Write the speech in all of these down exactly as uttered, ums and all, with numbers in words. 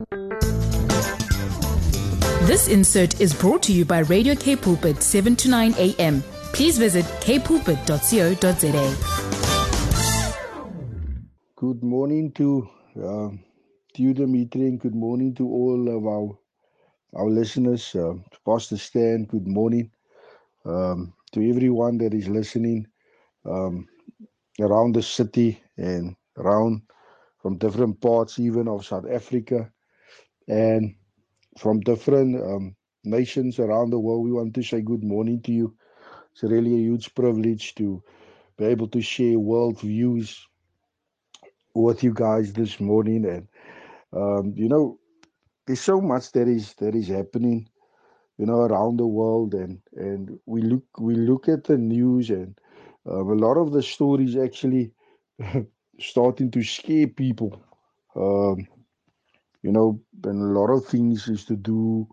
This insert is brought to you by Radio K Pulpit, seven to nine a.m. Please visit k pulpit dot co dot za. Good morning to uh, you, Dimitri, and good morning to all of our our listeners. Uh, Pastor Stan, good morning um, to everyone that is listening um, around the city and around from different parts, even of South Africa, and from different um, nations around the world. We want to say good morning to you. It's really a huge privilege to be able to share world views with you guys this morning. And um, you know, there's so much that is that is happening, you know, around the world, and and we look we look at the news, and um, a lot of the stories actually starting to scare people. Um, you know, and a lot of things is to do,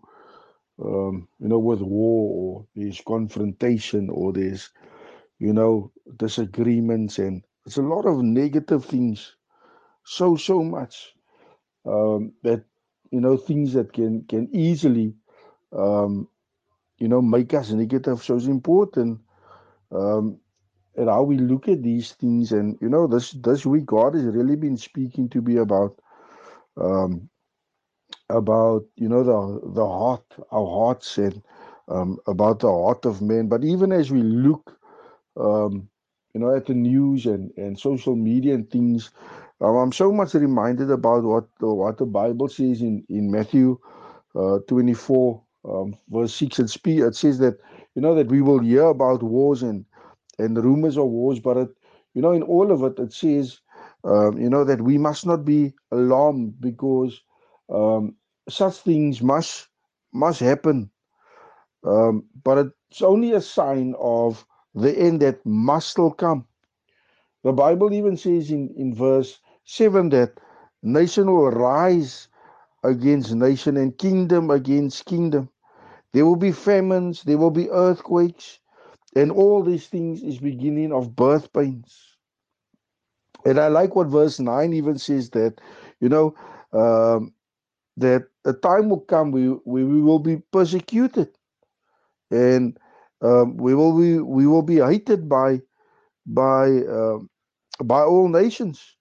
um, you know, with war, or there's confrontation, or there's, you know, disagreements, and it's a lot of negative things. So so much um, that, you know, things that can can easily um, you know, make us negative. So it's important um, at how we look at these things. And you know, this this week God has really been speaking to me about um, about you know the the heart, our hearts, and um, about the heart of man. But even as we look, um, you know, at the news and and social media and things, um, I'm so much reminded about what what the Bible says in in Matthew uh, twenty-four, um, verse six. It, spe- it says that, you know, that we will hear about wars and, and rumors of wars, but, it, you know, in all of it, it says, um, you know, that we must not be alarmed, because um, such things must must happen. Um, but it's only a sign of the end that must still come. The Bible even says in, in verse seven that nation will rise against nation and kingdom against kingdom. There will be famines, there will be earthquakes, and all these things is beginning of birth pains. And I like what verse nine even says, that, you know, um, that a time will come where we, we will be persecuted, and um, we will be we will be hated by by um, by all nations,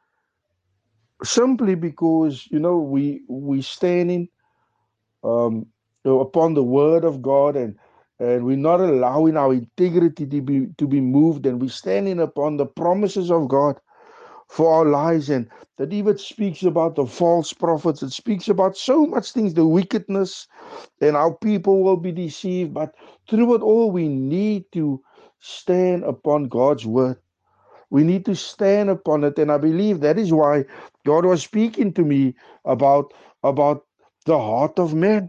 simply because, you know, we we standing um, upon the word of God, and and we're not allowing our integrity to be to be moved, and we're standing upon the promises of God for our lives. And that even speaks about the false prophets. It speaks about so much things, the wickedness, and how people will be deceived. But through it all, we need to stand upon God's word. We need to stand upon it. And I believe that is why God was speaking to me about about the heart of man.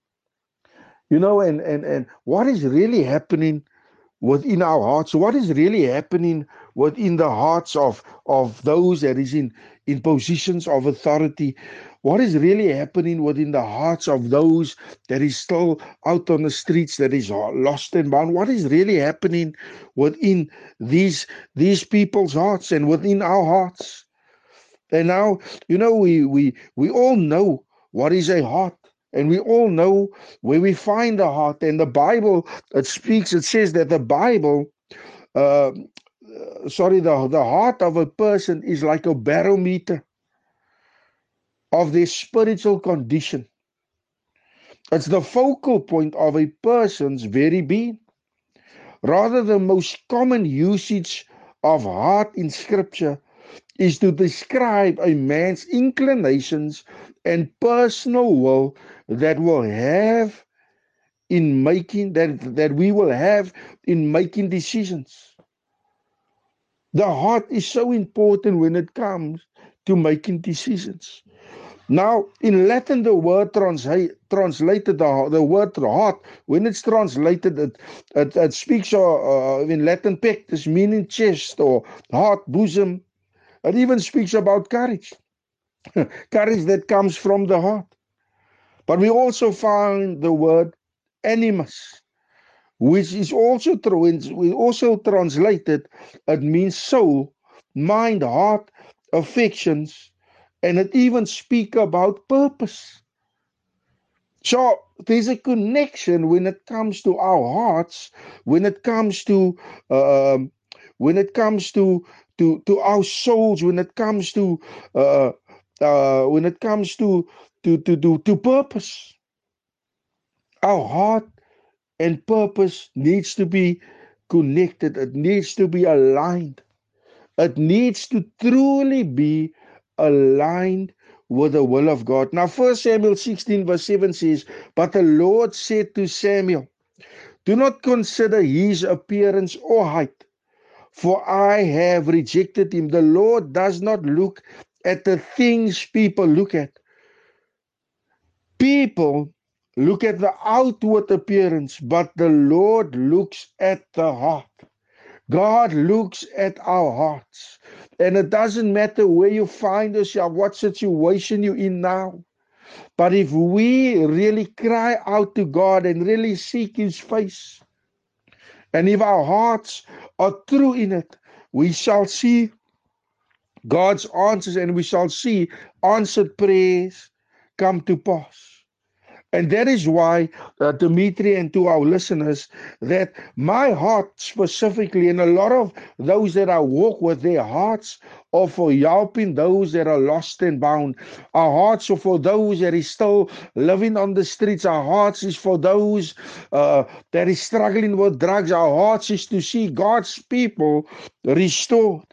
You know, and, and, and what is really happening within our hearts? What is really happening within the hearts of, of those that is in, in positions of authority? What is really happening within the hearts of those that is still out on the streets, that is lost and bound? What is really happening within these, these people's hearts and within our hearts? And now, you know, we, we, we all know what is a heart. And we all know where we find the heart. And the Bible, it speaks, it says that the Bible, uh, sorry, the, the heart of a person is like a barometer of their spiritual condition. It's the focal point of a person's very being. Rather, the most common usage of heart in Scripture is to describe a man's inclinations and personal will that will have in making that that we will have in making decisions. The heart is so important when it comes to making decisions. Now, in Latin, the word translate, translated the, the word heart, when it's translated, it, it, it speaks uh, in Latin pectus, meaning chest or heart, bosom. It even speaks about courage, courage that comes from the heart. But we also find the word animus, which is also we also translated. It means soul, mind, heart, affections, and it even speaks about purpose. So there's a connection when it comes to our hearts, when it comes to um, when it comes to to to our souls, when it comes to uh, uh, when it comes to to to to, to purpose. Our heart and purpose needs to be connected. It needs to be aligned. It needs to truly be aligned with the will of God. Now, First Samuel sixteen, verse seven says, "But the Lord said to Samuel, do not consider his appearance or height, for I have rejected him." The Lord does not look at the things people look at. People look at the outward appearance, but the Lord looks at the heart. God looks at our hearts. And it doesn't matter where you find yourself, what situation you're in now. But if we really cry out to God and really seek His face, and if our hearts are true in it, we shall see God's answers, and we shall see answered prayers come to pass. And that is why, uh, Dimitri, and to our listeners, that my heart specifically, and a lot of those that I walk with, their hearts are for helping those that are lost and bound. Our hearts are for those that is still living on the streets. Our hearts is for those uh, that is struggling with drugs. Our hearts is to see God's people restored.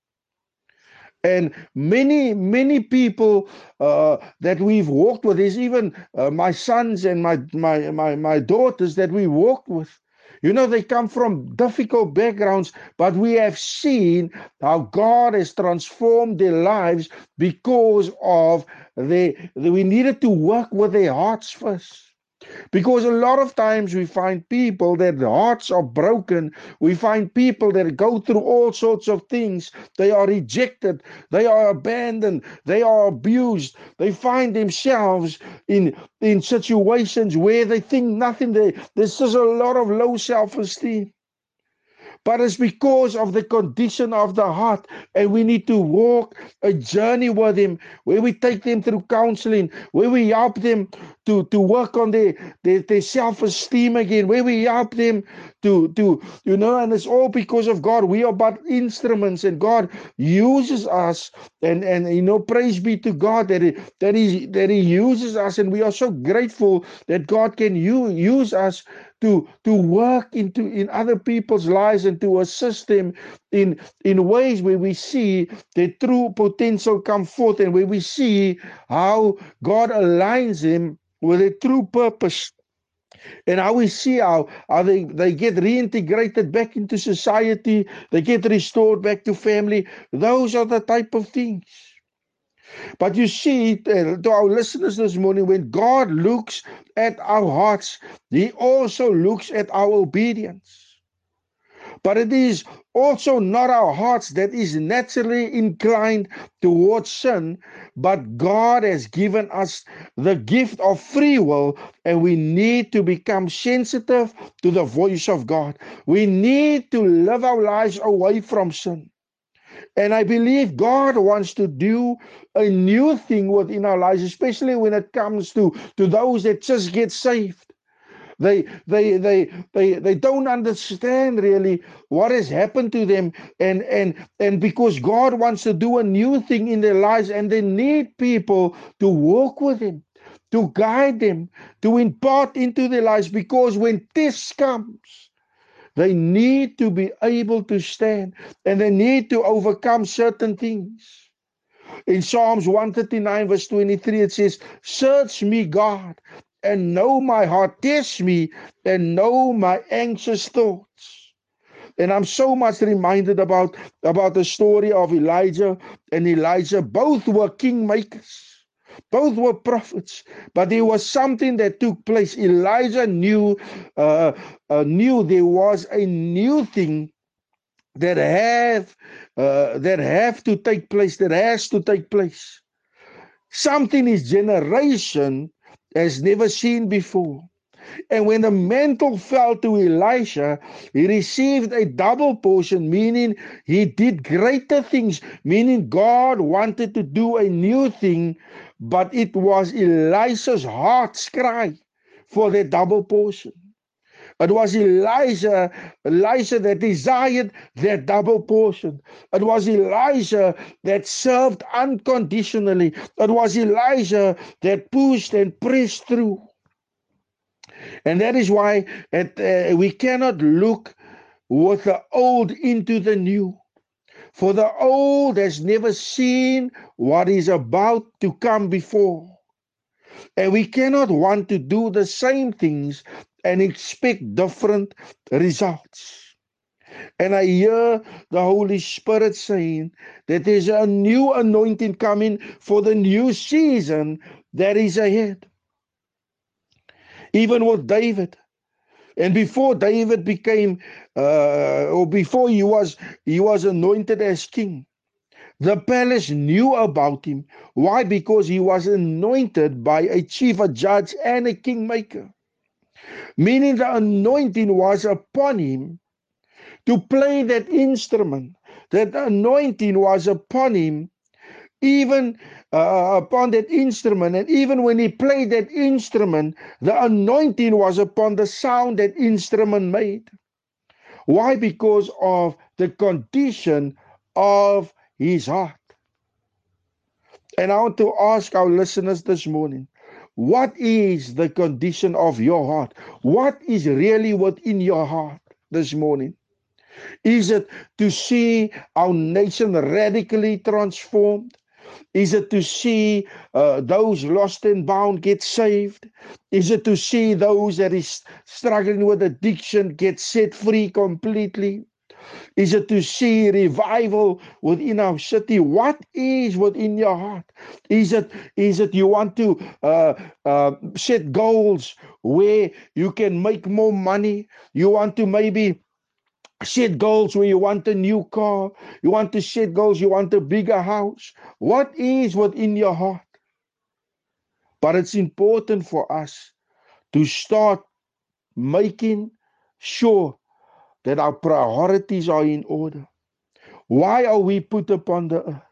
And many, many people uh, that we've walked with, is even uh, my sons and my, my, my, my daughters that we walked with. You know, they come from difficult backgrounds, but we have seen how God has transformed their lives because of the, we needed to work with their hearts first. Because a lot of times we find people that their hearts are broken. We find people that go through all sorts of things. They are rejected. They are abandoned. They are abused. They find themselves in, in situations where they think nothing. They, there's just a lot of low self-esteem. But it's because of the condition of the heart, and we need to walk a journey with Him, where we take them through counseling, where we help them to, to work on their, their, their self-esteem again, where we help them to, to, you know, and it's all because of God. We are but instruments, and God uses us, and, and you know, praise be to God that he, that, he, that He uses us, and we are so grateful that God can use, use us to, to work into in other people's lives and to assist them in, in ways where we see their true potential come forth, and where we see how God aligns them with a true purpose. And how we see how, how they, they get reintegrated back into society, they get restored back to family. Those are the type of things. But you see, to our listeners this morning, when God looks at our hearts, He also looks at our obedience. But it is also not our hearts that is naturally inclined towards sin, but God has given us the gift of free will, and we need to become sensitive to the voice of God. We need to live our lives away from sin. And I believe God wants to do a new thing within our lives, especially when it comes to, to those that just get saved. They, they, they, they, they don't understand really what has happened to them, and, and, and because God wants to do a new thing in their lives, and they need people to walk with Him, to guide them, to impart into their lives, because when this comes, they need to be able to stand, and they need to overcome certain things. In Psalms one thirty-nine, verse twenty-three, it says, "Search me, God, and know my heart. Test me and know my anxious thoughts." And I'm so much reminded about, about the story of Elijah and Elijah. Both were kingmakers. Both were prophets, but there was something that took place. Elijah knew, uh, uh, knew there was a new thing that have uh, that have to take place, that has to take place. Something his generation has never seen before. And when the mantle fell to Elisha, he received a double portion, meaning he did greater things, meaning God wanted to do a new thing, but it was Elisha's heart's cry for the double portion. It was Elijah, Elisha that desired that double portion. It was Elijah that served unconditionally. It was Elijah that pushed and pressed through. And that is why it, uh, we cannot look with the old into the new. For the old has never seen what is about to come before. And we cannot want to do the same things and expect different results. And I hear the Holy Spirit saying that there's a new anointing coming for the new season that is ahead. Even with David. And before David became, uh, or before he was, he was anointed as king, the palace knew about him. Why? Because he was anointed by a chief, a judge, and a kingmaker. Meaning the anointing was upon him to play that instrument. That anointing was upon him, even uh, upon that instrument. And even when he played that instrument, the anointing was upon the sound that instrument made. Why? Because of the condition of his heart. And I want to ask our listeners this morning, what is the condition of your heart? What is really within your heart this morning? Is it to see our nation radically transformed? Is it to see uh, those lost and bound get saved? Is it to see those that is struggling with addiction get set free completely? Is it to see revival within our city? What is within your heart? Is it is it you want to uh, uh, set goals where you can make more money? You want to maybe set goals where you want a new car. You want to set goals, you want a bigger house. What is within your heart? But it's important for us to start making sure that our priorities are in order. Why are we put upon the earth?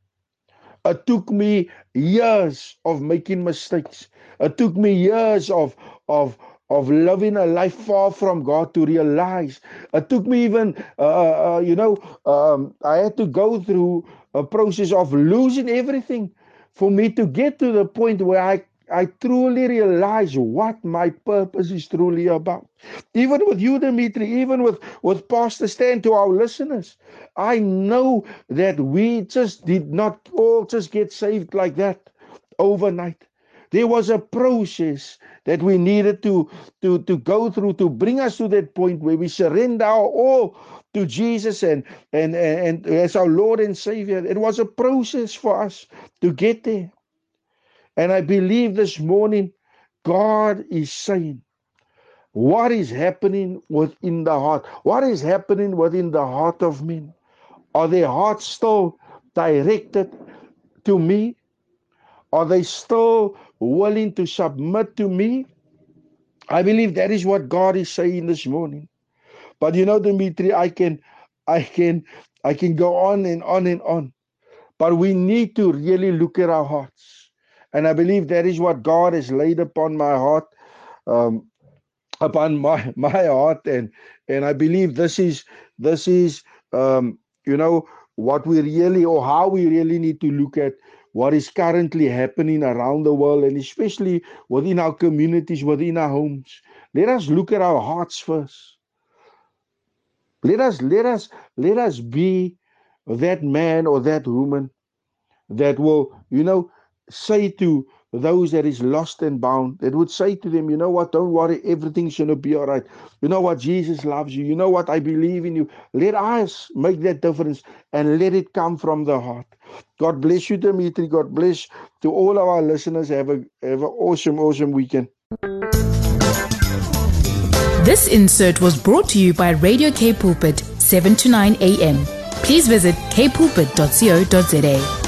It took me years of making mistakes. It took me years of, of, of living a life far from God to realize. It took me even, uh, uh, you know, um, I had to go through a process of losing everything for me to get to the point where I I truly realize what my purpose is truly about. Even with you, Dimitri, even with, with Pastor Stan, to our listeners, I know that we just did not all just get saved like that overnight. There was a process that we needed to, to, to go through to bring us to that point where we surrender our all to Jesus and, and, and, and as our Lord and Savior. It was a process for us to get there. And I believe this morning, God is saying, what is happening within the heart? What is happening within the heart of men? Are their hearts still directed to me? Are they still willing to submit to me? I believe that is what God is saying this morning. But you know, Dimitri, I can, I can, I can go on and on and on. But we need to really look at our hearts. And I believe that is what God has laid upon my heart, um, upon my, my heart. And, and I believe this is, this is um, you know, what we really, or how we really need to look at what is currently happening around the world, and especially within our communities, within our homes. Let us look at our hearts first. Let us, let us, let us be that man or that woman that will, you know, say to those that is lost and bound, that would say to them, you know what, don't worry, everything's going to be all right. You know what, Jesus loves you. You know what, I believe in you. Let us make that difference and let it come from the heart. God bless you, Dimitri. God bless to all of our listeners. Have a have an awesome, awesome weekend. This insert was brought to you by Radio K Pulpit, seven to nine a.m. Please visit k pulpit dot co dot za.